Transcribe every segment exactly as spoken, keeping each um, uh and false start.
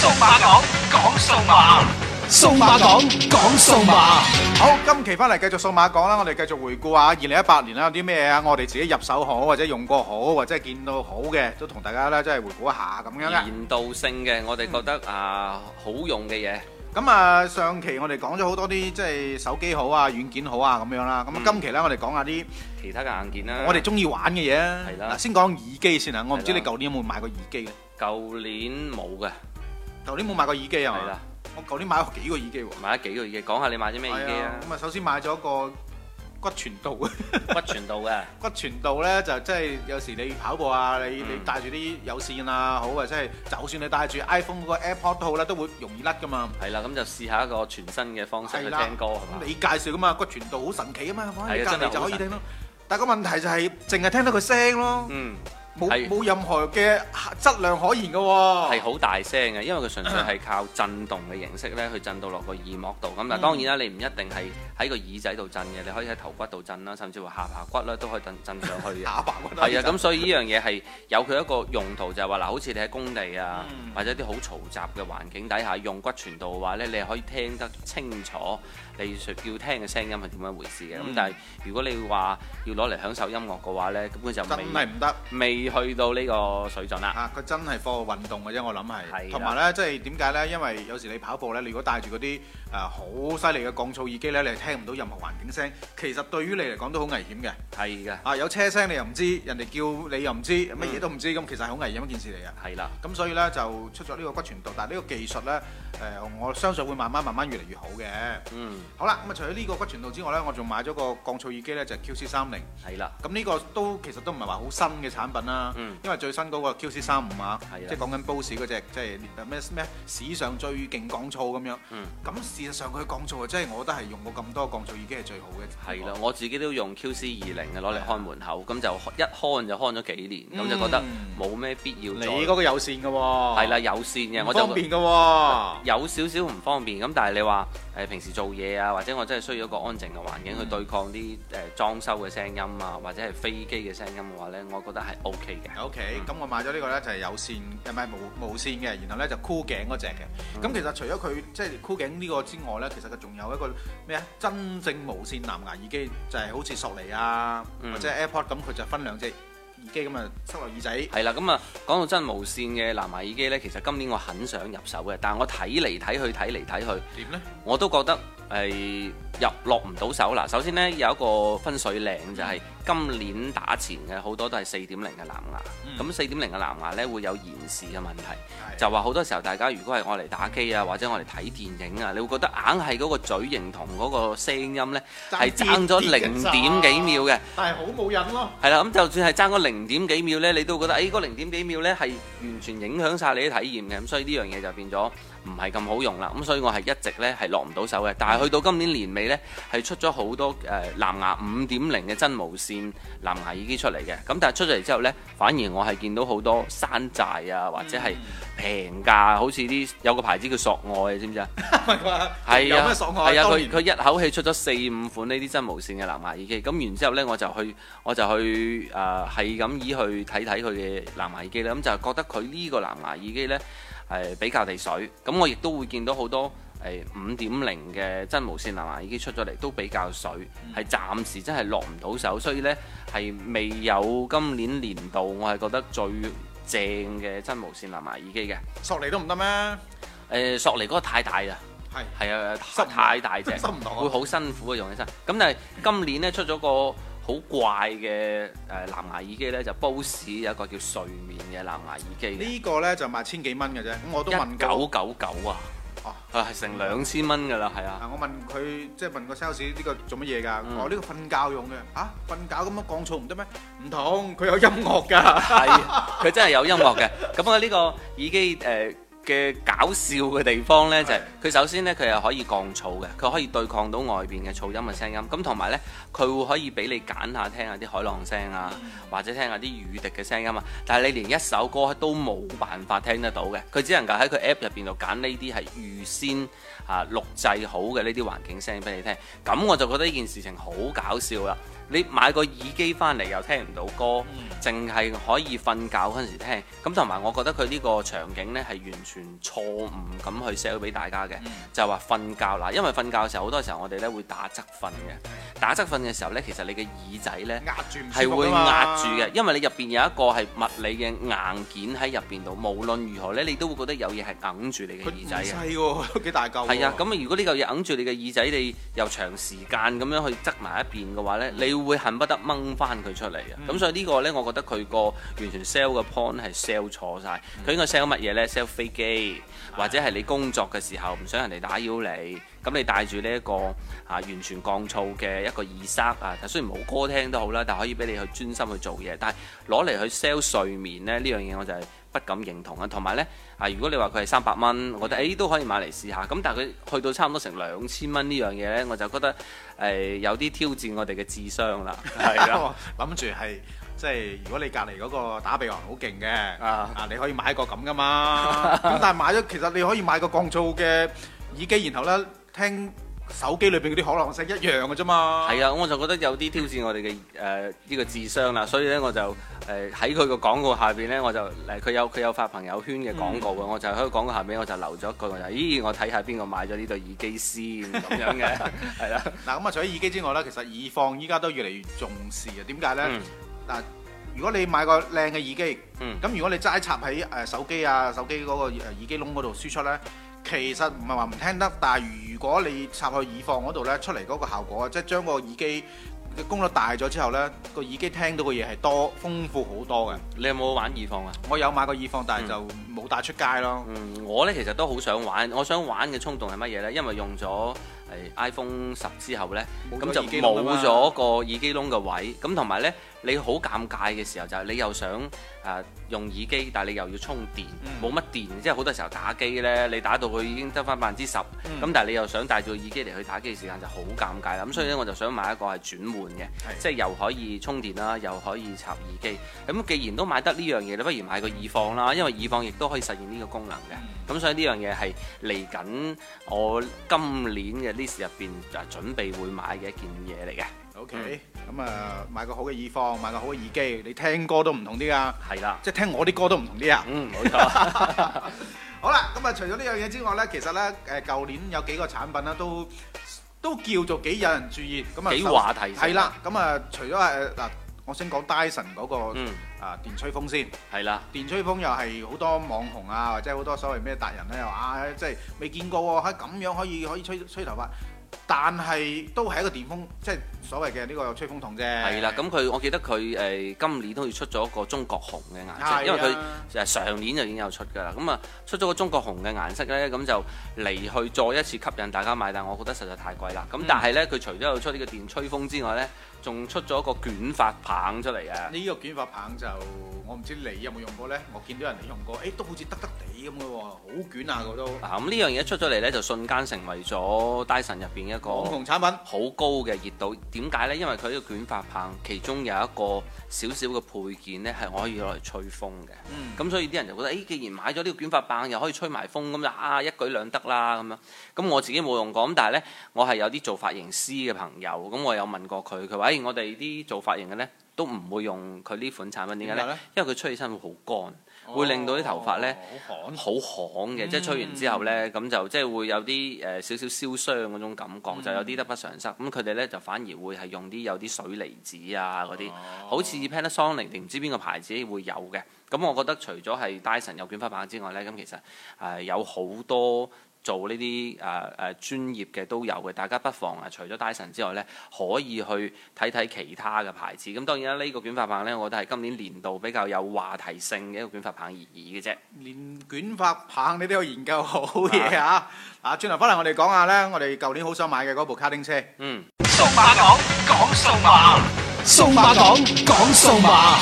數碼講，講數碼，數碼講，講數碼。 好，今期翻嚟繼續數碼講啦，我哋繼續回顧下二零一八年啦，有啲咩啊？我哋自己入手好，或者用過好，或者係見到好嘅，都同大家咧即係回顧一下咁樣嘅。 年度性嘅，我哋覺得啊好用嘅嘢。 咁啊，上期我哋講咗好多啲即係手機好啊、軟件好啊咁樣啦。咁啊，今期咧我哋講下啲其他嘅硬件啦。 我哋中意玩嘅嘢啊。 係啦嗱，先講耳機先啊。我唔知係啦你舊年有冇買過耳機嘅？ 舊年冇嘅， 舊年冇買過耳機啊嘛？ 係啦， 我舊年買咗幾個耳機喎。 買咗幾個耳機，講下你買咗咩耳機啊？ 咁啊，首先買咗個骨傳導嘅。 骨傳導嘅， 骨傳導咧就即係有時你跑步啊，你嗯你帶住啲有線啊，好啊，即係就算你帶住 iPhone 嗰個 AirPod 都好啦，都會容易甩噶嘛。 係啦，咁就試下一個全新嘅方式去係啦聽歌係嘛咁？你介紹噶嘛，骨傳導好神奇啊嘛，放喺你隔離係啊真係好就可以聽咯。但係個問題就係淨係聽到佢聲咯， 嗯， 冇係冇任何嘅質量可言嘅喎。 係好大聲嘅，因為佢純粹係靠震動嘅形式咧去震到落個耳膜度。咁但係當然啦，你唔一定係喺個耳仔度震嘅，你可以喺頭骨度震啦，甚至乎下巴骨咧都可以震震上去嘅。 打白骨係啊，咁所以呢樣嘢係有佢一個用途，就係話嗱，好似你喺工地啊， 嗯或者啲好嘈雜嘅環境底下用骨傳導嘅話咧，你係可以聽得清楚你要聽嘅聲音係點樣回事嘅。咁、 嗯但係如果你話要攞嚟享受音樂嘅話咧，根本就真未係唔得。 未去到呢個水準啦。 啊！佢真係課運動嘅啫，我諗係。 係啦同埋咧，即係點解咧？因為有時你跑步咧，你如果帶住嗰啲誒好犀利嘅降噪耳機咧，你係聽唔到任何環境聲。其實對於你嚟講都好危險嘅。 係嘅， 啊！有車聲你又唔知，人哋叫你又唔知，乜嘢都唔知，咁其實係好危險一件事嚟嘅。 係啦， 咁所以咧就出咗呢個骨傳導，但係呢個技術咧誒、呃，我相信會慢慢慢慢越嚟越好嘅。 嗯， 好啦，咁啊除咗呢個骨傳導之外咧，我仲買咗個降噪耳機咧，就係 Q C 三零。 係啦， 咁呢個都其實都唔係話好新嘅產品啦， 嗯因為最新嗰個 Q C 三五啊， 係啦即係講緊 Bose 嗰只，即係咩咩史上最勁降噪咁樣。 嗯， 咁事實上佢降噪啊，即係我覺得係用過咁多降噪耳機係最好嘅。 係啦，我自己都用 Q C 二零嘅攞嚟看門口，咁就一看就看咗幾年，咁就覺得冇咩必要再。 你嗰個有線嘅喎， 係啦，有線嘅， 唔我就方便嘅喎。 有少少唔方便，咁但係你話誒平時做嘢啊，或者我真係需要一個安靜嘅環境去對抗啲誒裝修嘅聲音啊，或者係飛機嘅聲音嘅話咧，我覺得係 O K 嘅。 OK，咁我買咗呢個咧就係有線，唔係無無線嘅，然後咧就箍頸嗰只嘅。咁、 嗯其實除咗佢即係箍頸呢個之外咧，其實佢仲有一個咩啊？真正無線藍牙耳機就係、好似索尼啊， 嗯或者 AirPod 咁，佢就分兩隻耳機咁啊，塞落耳仔。 係啦，咁啊講到真無線嘅藍牙耳機咧，其實今年我很想入手嘅，但係我睇嚟睇去睇嚟睇去， 點咧？ 我都覺得係入落唔到手啦。首先呢，有一個分水嶺就係今年打前嘅好多都係四點零嘅藍牙，咁四點零嘅藍牙呢會有延時嘅問題， 係就話好多時候大家如果係我嚟打機啊，或者我嚟睇電影啊，你會覺得硬係嗰個嘴型同嗰個聲音呢係爭咗零點幾秒嘅。 但係好冇癮咯。 係啦，咁就算係爭嗰零點幾秒呢，你都覺得誒嗰零點幾秒呢係完全影響晒你啲體驗嘅，咁所以呢樣嘢就變咗唔係咁好用啦。咁所以我係一直呢係落唔到手嘅，但係去到今年年尾呢，係出咗好多誒、呃、藍牙五點零嘅真無線藍牙耳機出嚟嘅。咁但係出咗嚟之後呢，反而我係見到好多山寨啊，或者係平價，好似啲有個牌子叫索愛，知唔知啊？係啊， 有咩索愛？ 係啊， 當年佢佢一口氣出咗四五款呢啲真無線嘅藍牙耳機，咁然之後呢，我就去我就去誒係咁以去睇睇佢嘅藍牙耳機啦，咁就覺得佢呢個藍牙耳機呢係比較地水，咁我亦都會見到好多誒五點零嘅真無線藍牙耳機出咗嚟都比較水，係暫時真係落唔到手，所以呢係未有今年年度我係覺得最正嘅真無線藍牙耳機嘅。 索尼都唔得咩？ 誒索尼嗰個太大啦。 係係啊， 塞唔太大隻， 塞唔到啊會好辛苦啊用起身。咁但係今年咧出咗個好怪嘅誒藍牙耳機咧，就 Bose 有一個叫睡眠嘅藍牙耳機嘅， 呢個咧就賣千幾蚊嘅啫。咁我都問一過九九九啊， 哦係係成兩千蚊㗎啦，係啊。 啊！我問佢即係問個 sales 呢個做乜嘢㗎？ 嗯我呢個瞓覺用嘅。啊，瞓覺咁樣降噪唔得咩？唔同，佢有音樂㗎。 係，佢真係有音樂嘅。咁啊呢個耳機誒嘅搞笑嘅地方呢，就係佢首先呢，佢係可以降噪嘅，佢可以對抗到外邊嘅噪音嘅聲音。咁同埋呢，佢會可以俾你揀下聽下啲海浪聲啊，或者聽下啲雨滴嘅聲音啊。但係你連一首歌都冇辦法聽得到嘅，佢只能夠喺佢 app 入邊度揀呢啲係預先啊錄製好嘅呢啲環境聲俾你聽。咁我就覺得呢件事情好搞笑啦。 你買個耳機翻嚟又聽唔到歌，淨係、嗯、可以瞓覺嗰陣時聽。咁同埋我覺得佢呢個場景呢係完全錯誤咁去 sell 俾大家嘅，嗯、就係話瞓覺啦。因為瞓覺嘅時候好多時候我哋呢會打側瞓嘅，打側瞓嘅時候呢，其實你嘅耳仔呢係會壓住嘅，因為你入邊有一個係物理嘅硬件喺入邊度，無論如何呢，你都會覺得有嘢係揞住你嘅耳仔嘅。 細喎，都幾大嚿。 係啊，咁如果呢嚿嘢揞住你嘅耳仔，你又長時間咁樣去側埋一邊嘅話呢，嗯、你會恨不得掹翻佢出嚟啊！咁、嗯、所以呢個呢，我覺得佢個完全 sell 嘅 point 係 sell 錯晒。佢、嗯、應該 sell 乜嘢呢？ sell 飛機，嗯、或者係你工作嘅時候唔想人哋打擾你，咁你帶住呢一個啊完全降噪嘅一個耳塞啊，雖然冇歌聽都好啦，但係可以俾你去專心去做嘢。但係攞嚟去 sell 睡眠呢，呢樣嘢我就係不敢認同啊。同埋呢，啊，如果你話佢係三百蚊，我覺得誒都可以買嚟試下。咁但係佢去到差唔多成兩千蚊呢樣嘢呢，我就覺得誒、呃、有啲挑戰我哋嘅智商啦。係啊， 諗住係即係如果你隔離嗰個打鼻鼾好勁嘅啊， 啊你可以買個咁噶嘛。咁但係買咗其實你可以買個降噪嘅耳機，然後呢聽手機裏邊嗰啲可能性一樣嘅啫嘛。 係啊，我就覺得有啲挑戰我哋嘅誒呢個智商啦，所以咧我就誒喺佢個廣告下邊咧，我就誒佢有佢有發朋友圈嘅廣告嘅，嗯、我就喺個廣告下邊我就留咗一句，我就咦我睇下邊個買咗呢對耳機先咁樣嘅，係啦。嗱咁啊，除咗耳機之外咧，其實耳放依家都越嚟越重視啊。點解咧？嗱、嗯，如果你買個靚嘅耳機，咁、嗯、如果你齋插喺誒手機啊手機嗰個誒耳機窿嗰度輸出咧。其實唔係話唔聽得，但係如果你插去耳放嗰度呢，出嚟嗰個效果，即係將個耳機嘅功率大咗之後呢，個耳機聽到嘅嘢係多豐富好多嘅。 你有冇玩耳放啊？ 我有買過耳放，但係就冇帶出街咯。 嗯，我呢其實都好想玩，我想玩嘅衝動係乜嘢呢？因為用咗iPhone 十之後呢，咁就冇咗個耳機窿嘅位，咁同埋呢，你好尷尬嘅時候就係你又想誒、呃、用耳機，但係你又要充電，冇乜、嗯、電，即係好多時候打機呢，你打到佢已經得翻百分之十，咁、嗯、但係你又想帶住個耳機嚟去打機嘅時間就好尷尬啦。咁、嗯、所以呢，我就想買一個係轉換嘅，的即係又可以充電啦，又可以插耳機。咁既然都買得呢樣嘢，你不如買個耳放啦，因為耳放亦都可以實現呢個功能嘅。咁、嗯、所以呢樣嘢係嚟緊我今年嘅list入邊就準備會買嘅一件嘢嚟嘅。 OK，咁啊買個好嘅耳放，買個好嘅耳機，你聽歌都唔同啲啊。 係啦， 即係聽我啲歌都唔同啲啊。 嗯，冇錯。 好啦，咁啊除咗呢樣嘢之外咧，其實咧誒舊年有幾個產品咧都都叫做幾有人注意，咁啊幾話題性。 係啦，咁啊除咗誒嗱，我先講 Dyson 嗰個嗯啊電吹風先。係啦， 電吹風又係好多網紅啊，或者好多所謂咩達人咧又啊，即係未見過喎，喺咁樣可以可以吹吹頭髮。但係都係一個電風，即係所謂嘅呢個吹風筒啫。係啦，咁佢我記得佢誒、呃、今年都要出咗一個中國紅嘅顏色，的因為佢誒上年就已經有出㗎啦。咁啊出咗個中國紅嘅顏色咧，咁就嚟去再一次吸引大家買，但係我覺得實在太貴啦。咁、嗯、但係咧，佢除咗有出呢個電吹風之外咧，仲出咗一個捲髮棒出嚟啊！呢個捲髮棒就我唔知你有冇用過咧，我見到人哋用過，誒、欸、都好似得得地咁嘅喎，好捲啊個都。嗱咁呢樣嘢一出咗嚟咧，就瞬間成為咗 Dyson 入邊一個網紅產品，好高嘅熱度。點解咧？因為佢呢個捲髮棒其中有一個少少嘅配件咧，係可以攞嚟吹風嘅。咁、嗯、所以啲人就覺得，誒、欸，既然買咗呢個捲髮棒，又可以吹埋風，咁就啊一舉兩得啦咁樣。咁我自己冇用過，咁但係咧，我係有啲做髮型師嘅朋友，咁我有問過佢，佢話：誒、欸，我哋啲做髮型嘅咧，都唔會用佢呢款產品。點解咧？因為佢吹起身會好乾。會令到啲頭髮咧好旱，好旱嘅，即係吹完之後咧，咁就即係會有啲誒少少燒傷嗰種感覺，嗯、就有啲得不償失。咁佢哋咧就反而會係用啲有啲水離子啊嗰啲，哦、好似 Panasonic 定唔知邊個牌子會有嘅。咁我覺得除咗係 Dyson 有捲髮棒之外咧，咁其實誒、呃、有好多做呢啲誒誒專業嘅都有嘅，大家不妨啊，除咗 Dyson 之外咧，可以去睇睇其他嘅牌子。咁當然啦，呢、呢個捲髮棒咧，我覺得係今年年度比較有話題性嘅一個捲髮棒而已嘅啫。連捲髮棒你都有研究好嘢啊！啊，轉頭翻嚟我哋講下咧，我哋舊年好想買嘅嗰部卡丁車。嗯。 數碼講講數碼，數碼講講數碼。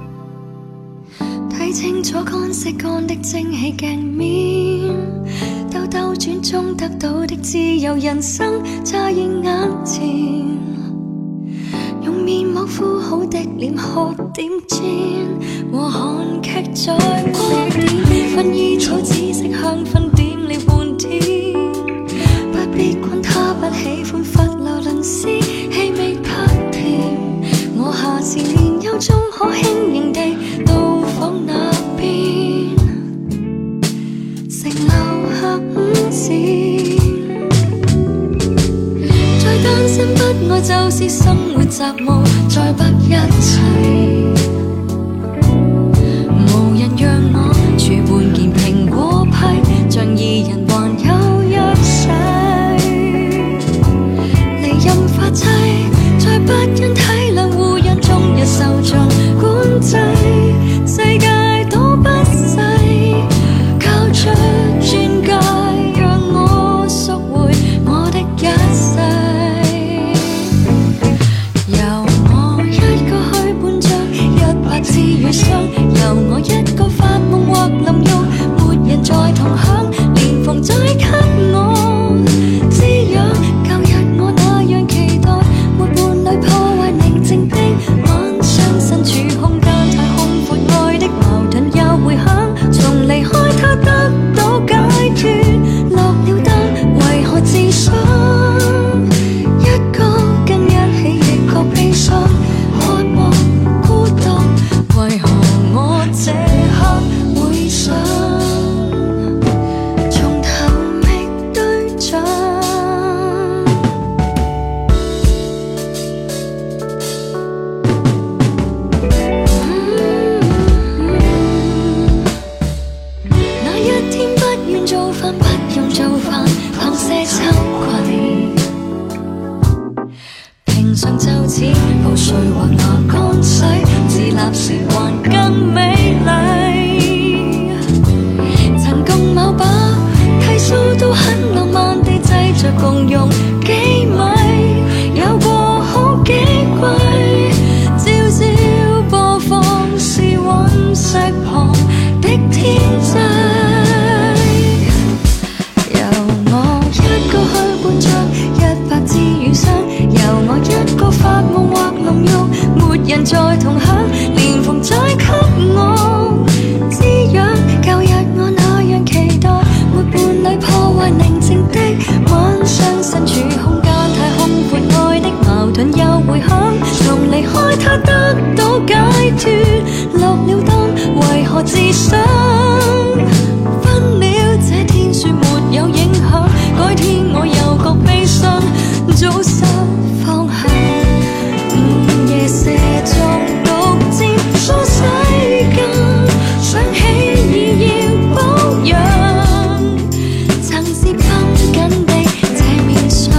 清楚乾色乾的蒸汽鏡面， 兜兜轉中得到的自由人生乍現眼前，用面膜敷好的臉喝點煎，和韓劇在光點，薰衣草紫色香薰點了半天，不必管他不喜歡佛羅倫斯氣味太甜，我下次年幼中可輕盈地到訪那邊，乘留下午膳，再單身不愛就是生活雜務，再不一齊，無人讓我儲半件蘋果批，像二人還有約誓，離任法制，再不因體諒互讓終日受盡管制，世界多不細，靠着鑽戒讓我贖回我的一世。由我一個去伴着一百次餘生，由我一個發夢或淋浴，沒人再同享，連逢再給我滋養。舊日我那樣期待，沒伴侶破壞寧靜的晚上，身處空間太空闊，愛的矛盾又回響，從離開他得到解脫，落了燈為何自傷？一個跟一起亦覺悲傷，渴望孤獨，為何我這刻會想從頭覓對象？那一天不願做飯，不用做飯，旁些秋葵，平常就似補水或拿乾水，自立時還更美麗。曾共某把剃鬚都很浪漫地製着共用幾米，有過好幾季，朝朝播放是隕石旁的天際。由我一個去伴着一百次餘生，由我一個發夢或淋浴，沒人再同享，連逢再給我滋養。舊日我那樣期待，沒伴侶破壞寧靜的晚上，身處空間太空闊，愛的矛盾又回響，從離開他得到解脫，落了燈為何自傷？分了這天說沒有影響，改天我又覺悲傷，早收放下，午夜射中獨佔梳洗間，想起已要保養，曾是繃緊的這面相。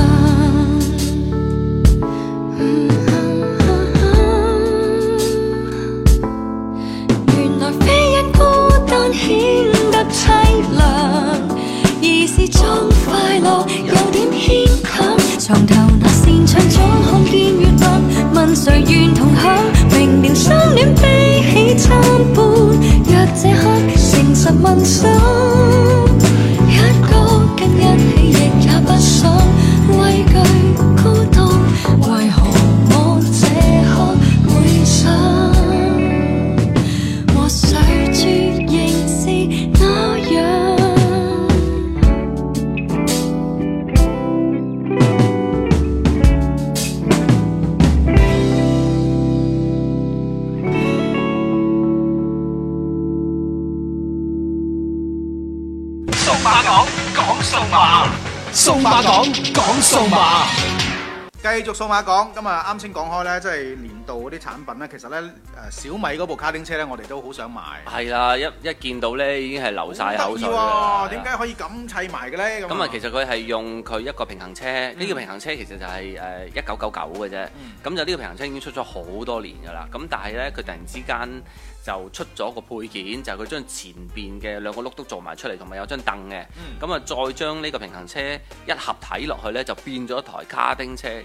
原來非因孤單顯得凄涼，而是裝快樂有點牽強。床頭那扇窗總看見月亮，問誰願同享？明了相戀悲喜參半，若這刻誠實問心，一個跟一起亦也不想畏懼孤獨，為何我這刻會想和誰絕仍是那樣？ 數碼講講數碼，數碼講講數碼。 繼續數碼講，咁啊啱先講開咧，即係年度嗰啲產品咧，其實咧誒小米嗰部卡丁車咧，我哋都好想買。 係啦，一一見到咧已經係流晒口水啦。點解可以咁砌埋嘅咧？ 咁啊，其實佢係用佢一個平衡車，呢、嗯、個平衡車其實就係誒一九九九嘅啫。咁、嗯、就呢個平衡車已經出咗好多年㗎啦。咁但係咧，佢突然之間就出咗個配件，就係佢將前邊嘅兩個轆都做埋出嚟，同埋有張凳嘅。咁啊、嗯，再將呢個平衡車一合體落去咧，就變咗一台卡丁車。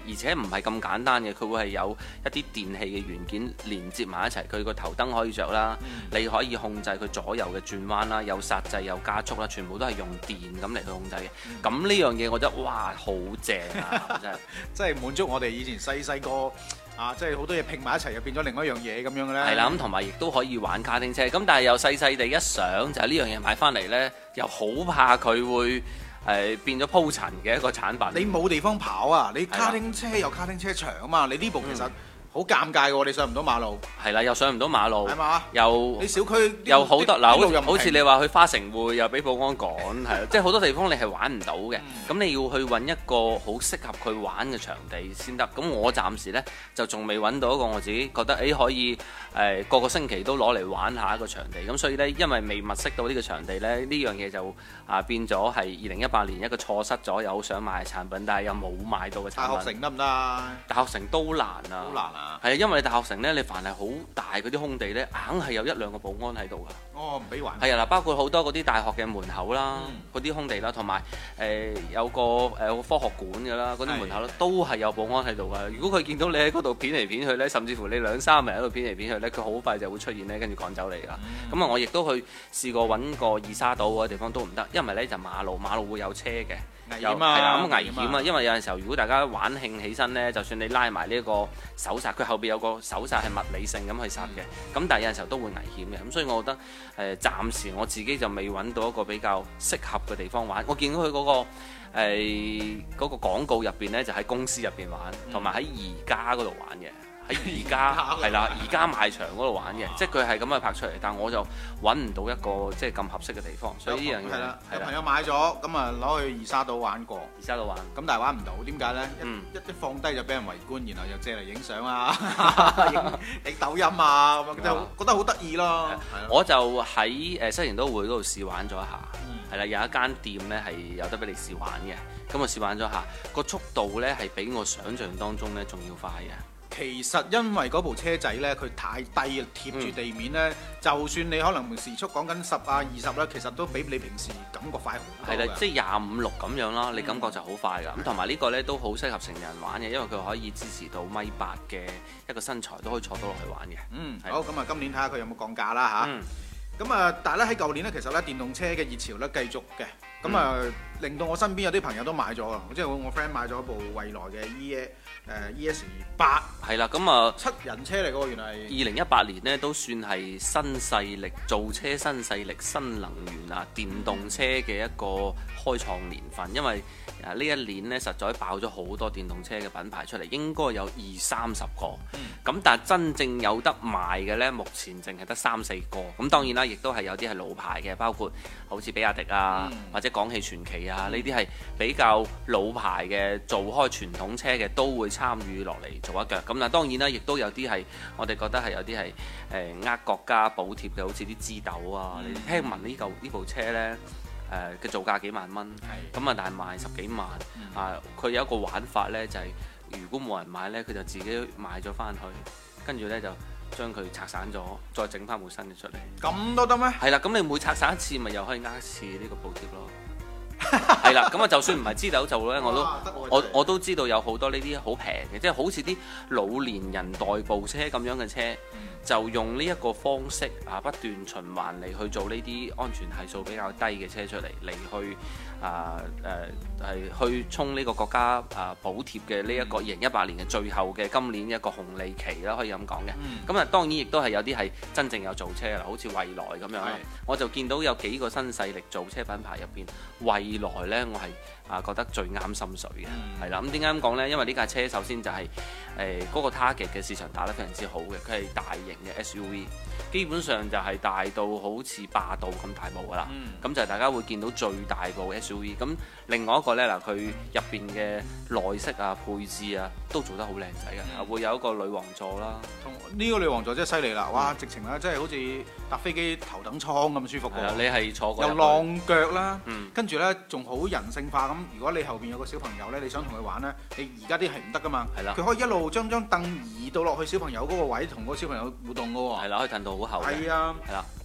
而且唔係咁簡單嘅，佢會係有一啲電器嘅元件連接埋一齊，佢個頭燈可以着啦，嗯、你可以控制佢左右嘅轉彎啦，有剎掣有加速啦，全部都係用電咁嚟去控制嘅。咁呢、嗯、樣嘢我覺得哇好正啊！真係即係滿足我哋以前細細個啊，即係好多嘢拼埋一齊，又變咗另外一樣嘢咁樣嘅咧。 係啦，咁同埋亦都可以玩卡丁車。咁但係又細細地一想，就係、是、呢樣嘢買翻嚟呢，又好怕佢會誒、呃、變咗鋪塵嘅一個產品。 你冇地方跑啊！你卡丁車有卡丁車場啊嘛，你呢部其實、嗯。好尷尬嘅喎，你上唔到馬路。係啦，又上唔到馬路。 係嘛？ 又你小區又好多嗱，好似你話去花城匯又俾保安趕，係即係好多地方你係玩唔到嘅。咁、嗯、你要去揾一個好適合佢玩嘅場地先得。咁我暫時呢，就仲未揾到一個我自己覺得誒、欸、可以誒、呃、個個星期都攞嚟玩下一個場地。咁所以呢，因為未物色到呢個場地呢，呢樣嘢就啊變咗係二零一八年一個錯失咗又好想買嘅產品，但係又冇買到嘅產品。 大學城得唔得啊？ 大學城都難啊。 好難啊！ 係啊，因為你大學城咧，你凡係好大嗰啲空地咧，硬係有一兩個保安喺度噶。 哦，唔俾玩。 係啊，嗱，包括好多嗰啲大學嘅門口啦，嗰啲、嗯、空地啦，同埋誒有個誒、呃、科學館㗎啦，嗰啲門口咧的都係有保安喺度噶。如果佢見到你喺嗰度片嚟片去咧，甚至乎你兩三日喺度片嚟片去咧，佢好快就會出現咧，跟住趕走你㗎。咁啊、嗯，我亦都去試過揾個二沙島嗰啲地方都唔得，因為咧就馬路馬路會有車嘅。 危險啊！係啦， 咁危險啊！因為有陣時候，如果大家玩興起身呢，就算你拉埋呢一個手剎，佢後邊有個手剎係物理性咁去剎嘅，咁、嗯、但係有陣時候都會危險嘅。咁所以我覺得誒、呃，暫時我自己就未揾到一個比較適合嘅地方玩。我見到佢嗰、嗰個誒嗰、呃嗰個廣告入邊呢，就喺公司入邊玩，同埋喺宜家嗰度玩嘅。喺宜家係啦，宜家賣場嗰度玩嘅，即係佢係咁樣拍出嚟，但我就揾唔到一個即係咁合適嘅地方，所以呢樣嘢係啦。 有朋友買咗，咁啊攞去二沙島玩過， 二沙島玩， 咁但係玩唔到，點解咧？一一放低就俾人圍觀，然後又借嚟影相啊，影抖音啊，咁樣就覺得好得意咯。 我就喺誒西營都會嗰度試玩咗一下，係啦，有一間店咧係有得俾你試玩嘅，咁我試玩咗下，個速度咧係比我想象當中咧仲要快嘅。 其實因為嗰部車仔呢，佢太低貼住地面呢，嗯、就算你可能時速講緊十啊二十啦，其實都比你平時感覺快好多。係啦，即係廿五六咁樣啦，你感覺就好快㗎。咁同埋呢個呢，都好適合成人玩嘅，因為佢可以支持到米八嘅一個身材都可以坐到落去玩嘅。嗯，的好，咁啊今年睇下佢有冇降價啦嚇。嗯咁啊，但係咧喺舊年咧，其實咧電動車嘅熱潮咧繼續嘅，咁啊、嗯、令到我身邊有啲朋友都買咗啊，即係我我 friend 買咗部蔚來嘅 E 誒 E S 八， 係啦，咁啊七人車嚟嘅喎，原來係二零一八年咧都算係新勢力造車新勢力新能源啊電動車嘅一個開創年份，因為啊呢一年咧實在爆咗好多電動車嘅品牌出嚟，應該有二三十個，咁、嗯、但係真正有得賣嘅咧，目前淨係得三四個，咁當然啦。亦都係有啲係老牌嘅，包括好似比亞迪啊，嗯、或者廣汽傳祺啊，呢啲係比較老牌嘅，做開傳統車嘅都會參與落嚟做一腳。咁嗱，當然啦，亦都有啲係我哋覺得係有啲係誒呃國家補貼嘅，好似啲枝豆啊。嗯、你聽聞呢嚿呢部車呢誒嘅造價幾萬蚊，咁啊，但係賣十幾萬、嗯、啊。佢有一個玩法呢，就係、是、如果冇人買呢，佢就自己買咗翻去，跟住呢就。將佢拆散咗，再整翻部新嘅出嚟。 咁都得咩？係啦，咁你每拆散一次，咪又可以呃一次呢個補貼咯。係啦，咁啊，就算唔係支豆做咧，我都我我都知道有好多呢啲好平嘅，即係好似啲老年人代步車咁樣嘅車，嗯、就用呢一個方式啊，不斷循環嚟去做呢啲安全係數比較低嘅車出嚟，嚟去啊誒係去衝呢個國家啊補貼嘅呢一個二零一八年嘅最後嘅今年一個紅利期啦，可以咁講嘅。咁啊、嗯，當然亦都係有啲係真正有造車啦，好似蔚來咁樣。是我就見到有幾個新勢力造車品牌入邊，蔚來呢，我係啊覺得最啱心水嘅，係啦、嗯。咁點解咁講呢？因為呢架車首先就係誒嗰個 target 嘅市場打得非常之好嘅，佢係大型嘅 S U V， 基本上就係大到好似霸道咁大部噶啦。咁、嗯、就係大家會見到最大部 S U V。咁另外一個呢，嗱，佢入邊嘅內飾啊、配置啊都做得好靚仔嘅，嗯、會有一個女王座啦。同呢個女王座真係犀利啦！哇，直情咧真係好似搭飛機頭等艙咁舒服喎。 你係坐過？ 有浪腳啦，嗯、跟住呢仲好人性化咁。如果你後邊有個小朋友呢，你想同佢玩呢，你而家啲係唔得噶嘛。係啦。佢可以一路將張凳移到落去小朋友嗰個位，同個小朋友互動噶喎。係啦，可以褪到好後。係啊。係啦。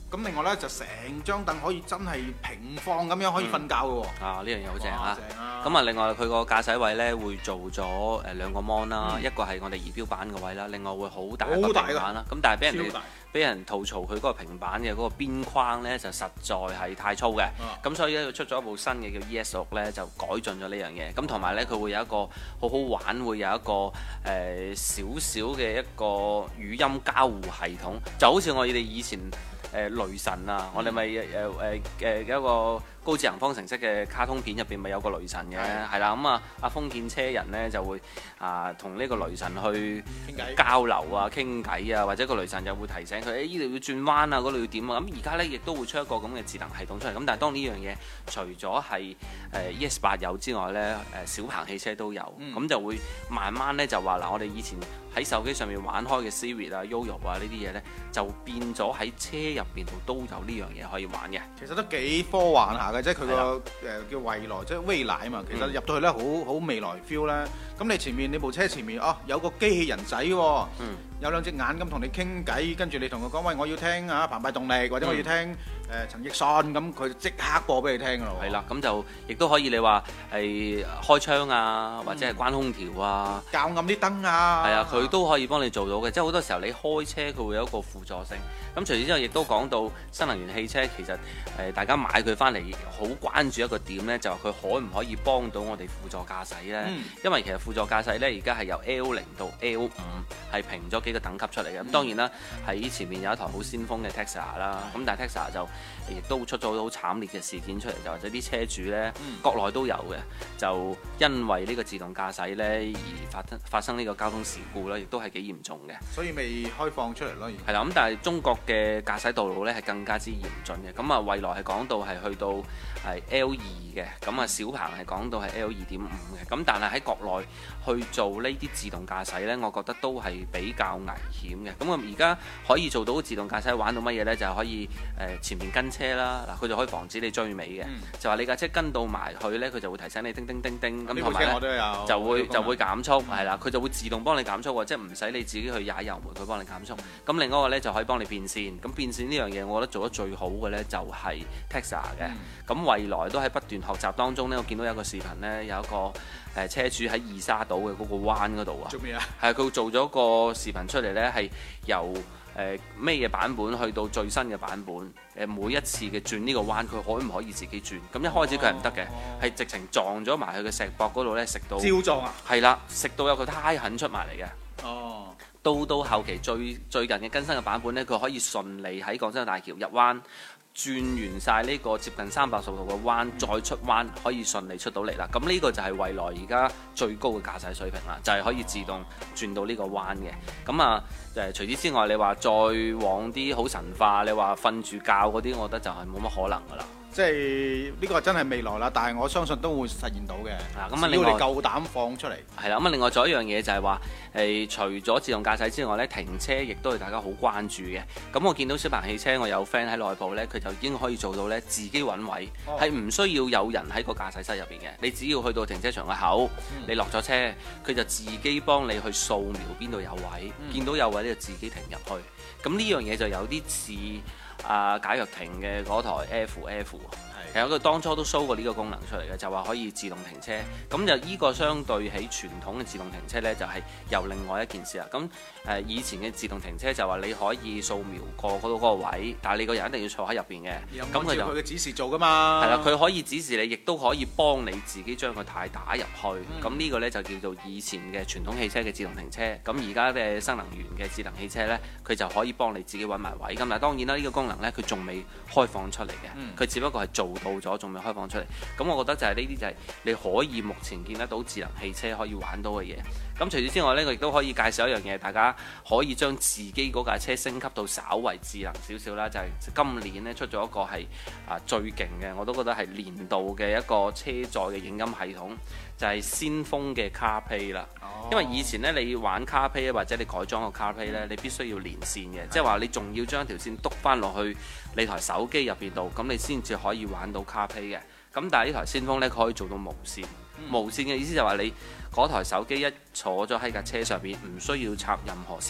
咁另外咧就成張凳可以真係平放咁樣可以瞓覺嘅喎。 啊，呢樣嘢好正哇啊！ 正啊！ 咁啊，另外佢個駕駛位咧會做咗誒兩個 mon 啦， 嗯一個係我哋儀表板嘅位啦，另外會好大一個好大㗎平板啦。咁但係俾人哋超大俾人吐槽佢嗰個平板嘅嗰個邊框咧就實在係太粗嘅， 啊咁所以咧佢出咗一部新嘅叫 E S 六咧就改進咗呢樣嘢。咁同埋咧佢會有一個好好玩，會有一個誒少少嘅一個語音交互系統，就好似我哋以前。誒雷神啊！我哋咪誒誒誒一個高智能方程式嘅卡通片入邊咪有個雷神嘅，係啦咁啊，阿封建車人呢就會啊同呢個雷神去傾偈交流啊、傾偈啊，或者個雷神就會提醒佢誒呢度要轉彎啊，嗰度要點啊。咁而家呢亦都會出一個咁嘅智能系統出嚟。咁但係當呢樣嘢除咗係誒 E S 八有之外呢，誒小鵬汽車都有，咁、 嗯、 就會慢慢呢就話嗱，我哋以前喺手機上面玩開嘅 Siri 啊、Yoyo 啊呢啲嘢呢，就變咗喺車入邊度都有呢樣嘢可以玩嘅。 其實都幾科幻下嘅，即係佢個誒叫未來，即係未來啊嘛。其實入到去咧，好好未來 feel 咧。咁你前面你部車前面哦，有個機器人仔喎， 嗯、 有兩隻眼咁同你傾偈，跟住你同佢講喂，我要聽啊澎湃動力，或者我要聽誒、嗯呃、陳奕迅，咁佢即刻播俾你聽㗎咯。 係啦，咁就亦都可以你話係開窗啊，或者係關空調啊， 校暗啲燈啊。 係啊，佢都可以幫你做到嘅。即係好多時候你開車佢會有一個輔助性。咁除此之外，亦都講到新能源汽車，其實誒、呃、大家買佢翻嚟好關注一個點呢，就係、是、佢可唔可以幫到我哋輔助駕駛呢？ 嗯、 因為其實輔助駕駛呢，而家係由 L 零到 L 五係評咗幾個等級出嚟嘅。咁、嗯、當然啦，喺前面有一台好先鋒嘅 Tesla 啦。咁、嗯、但係 Tesla 就亦都出咗好慘烈嘅事件出嚟，就或者啲車主呢，嗯、國內都有嘅，就因為呢個自動駕駛呢而發生發生呢個交通事故啦，亦都係幾嚴重嘅。 所以未開放出嚟咯。 係啦，咁但係中國嘅駕駛道路呢係更加之嚴峻嘅。咁啊，蔚來係講到係去到係 L 二嘅，咁啊小鵬係講到係 L 二點五嘅。咁但係喺國內去做呢啲自動駕駛呢，我覺得都係比較危險嘅。咁啊，而家可以做到自動駕駛玩到乜嘢呢？就係可以誒、呃、前面跟車啦，嗱佢就可以防止你追尾嘅。嗯、就話你架車跟到埋去呢，佢就會提醒你叮叮叮叮咁，同埋呢就會就會減速，係啦、嗯，佢就會自動幫你減速喎，即係唔使你自己去踩油門，佢幫你減速。咁、嗯、另外一個呢，就可以幫你變線。咁變線呢樣嘢，我覺得做得最好嘅呢，就係 Tesla 嘅。咁、嗯、蔚來都喺不斷學習當中呢，我見到有一個視頻呢，有一個誒車主喺二沙島嘅嗰個灣嗰度啊。做咩啊？係佢做咗個視頻出嚟呢，係由誒咩嘅版本去到最新嘅版本。誒每一次嘅轉呢個彎，佢可唔可以自己轉？咁一開始佢係唔得嘅，係、哦、直情撞咗埋去嘅石壆嗰度呢，食到。焦撞啊！係啦，食到有個胎痕出埋嚟嘅。哦。到到後期最最近嘅更新嘅版本呢，佢可以順利喺廣州大橋入彎，轉完晒呢個接近三百六十度嘅彎，再出彎可以順利出到嚟啦。咁呢個就係蔚來而家最高嘅駕駛水平啦，就係、是、可以自動轉到呢個彎嘅。咁啊誒，除此之外，你話再往啲好神化，你話瞓住覺嗰啲，我覺得就係冇乜可能噶啦。 即係呢、這個真係未來啦，但係我相信都會實現到嘅。啊，咁啊，只要你夠膽放出嚟。係啦， 咁啊，另外仲有一樣嘢就係話，誒，除咗自動駕駛之外咧，停車亦都係大家好關注嘅。咁我見到小鵬汽車，我有 friend 喺內部咧，佢就已經可以做到咧自己揾位，係唔、哦、需要有人喺個駕駛室入邊嘅。你只要去到停車場嘅口，嗯、你落咗車，佢就自己幫你去掃描邊度有位，嗯、見到有位咧就自己停入去。咁呢樣嘢就有啲似啊賈躍亭嘅嗰台 F F。其實佢當初都 show 過呢個功能出嚟嘅，就話可以自動停車。咁就呢個相對起傳統嘅自動停車呢，就係、是、由另外一件事啦。咁誒、呃、以前嘅自動停車就話你可以掃描過嗰度嗰個位，但係你個人一定要坐喺入邊嘅。咁佢就佢嘅指示做㗎嘛。 係啦，佢可以指示你，亦都可以幫你自己將個軚打入去。咁呢、嗯、個呢，就叫做以前嘅傳統汽車嘅自動停車。咁而家嘅新能源嘅智能汽車呢，佢就可以幫你自己揾埋位。咁但係當然啦，呢、這個功能呢，佢仲未開放出嚟嘅。佢、嗯、只不過係做到咗，仲未開放出嚟。咁我覺得就係呢啲就係你可以目前見得到智能汽車可以玩到嘅嘢。咁除此之外呢，我亦都可以介紹一樣嘢，大家可以將自己嗰架車升級到稍為智能少少啦。就係、是、今年呢出咗一個係啊最勁嘅，我都覺得係年度嘅一個車載嘅影音系統，就係、是、先鋒嘅 CarPlay 啦。哦、因為以前呢，你玩 CarPlay 或者你改裝個 CarPlay 呢，你必須要連線嘅，即係話你仲要將條線篤翻落去你台手機入邊度，咁你先至可以玩到 CarPlay 嘅。咁但係呢台先鋒呢，佢可以做到無線。嗯、無線嘅意思就係話你嗰台手機一坐咗喺架車上邊，唔需要插任何線，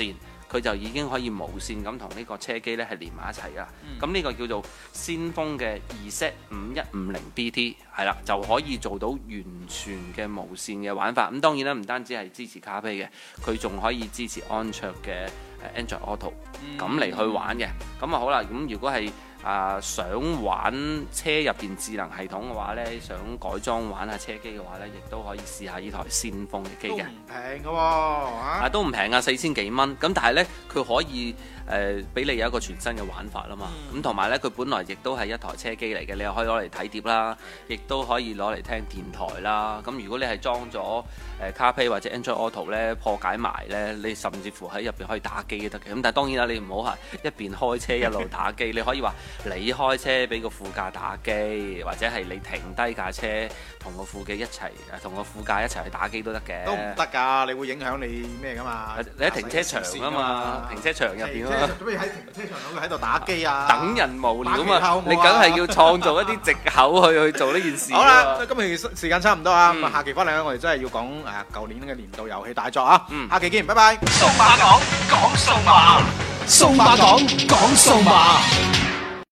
佢就已經可以無線咁同呢個車機呢係連埋一齊噶。咁呢、嗯、個叫做先鋒嘅 Z 五一五零 B T 係啦，就可以做到完全嘅無線嘅玩法。咁當然啦，唔單止係支持 CarPlay 嘅，佢仲可以支持安卓嘅 Android Auto 咁嚟、嗯、去玩嘅。咁啊好啦，咁如果係啊、呃，想玩車入邊智能系統嘅話呢，想改裝玩下車機嘅話呢，亦都可以試下呢台先鋒嘅機嘅。都唔平嘅喎，啊都唔平啊，四千幾蚊。咁但係呢，佢可以誒俾、呃、你有一個全新嘅玩法啦嘛。咁同埋呢，佢本來亦都係一台車機嚟嘅，你又可以攞嚟睇碟啦，亦都可以攞嚟聽電台啦。咁如果你係裝咗誒 CarPlay 或者 Android Auto 呢，破解埋呢，你甚至乎喺入邊可以打機都得嘅。咁但係當然啦，你唔好係一邊開車一路打機，你可以話。你開車俾個副駕打機，或者係你停低架車同個副機一齊，同個副駕一齊去打機都得嘅。 都唔得㗎，你會影響你咩㗎嘛？ 你喺停車場啊嘛，停車場入邊啊嘛。 做咩喺停車場度喺度打機啊？ 等人無聊啊嘛，你梗係要創造一啲藉口去去做呢件事。 好啦，今日時間差唔多啊，咁啊下期翻嚟咧，我哋真係要講誒舊年嘅年度遊戲大作啊。下期見，拜拜。 數碼講講數碼，數碼講講數碼。